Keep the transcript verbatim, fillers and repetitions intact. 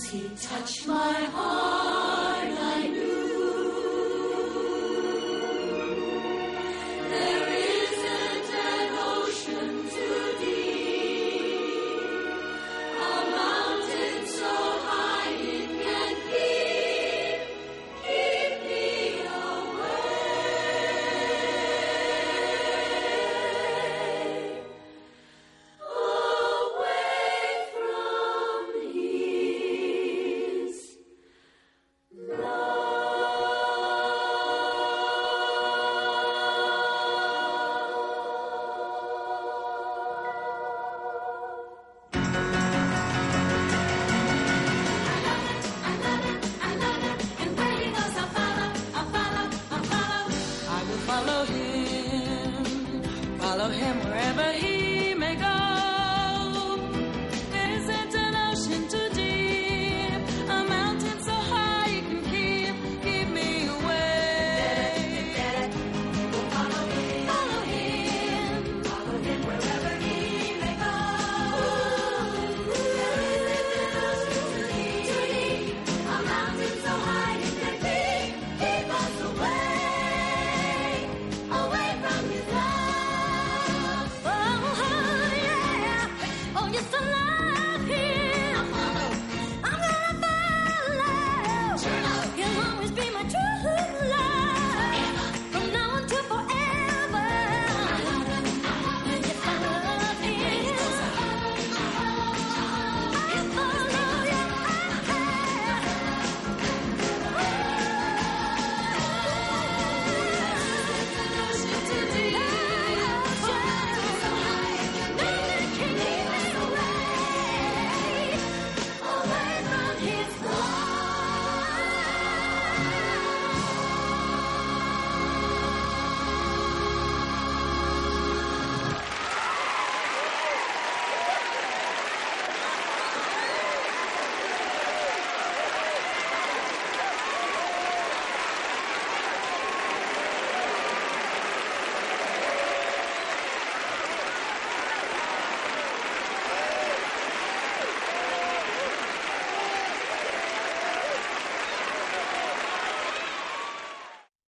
he touched my heart, I knew there isn't an ocean too deep, a mountain so high it can keep, keep me away, away from his love. I love it, I love it, and where he goes I'll follow, I'll follow, I'll follow. I will follow him, follow him wherever he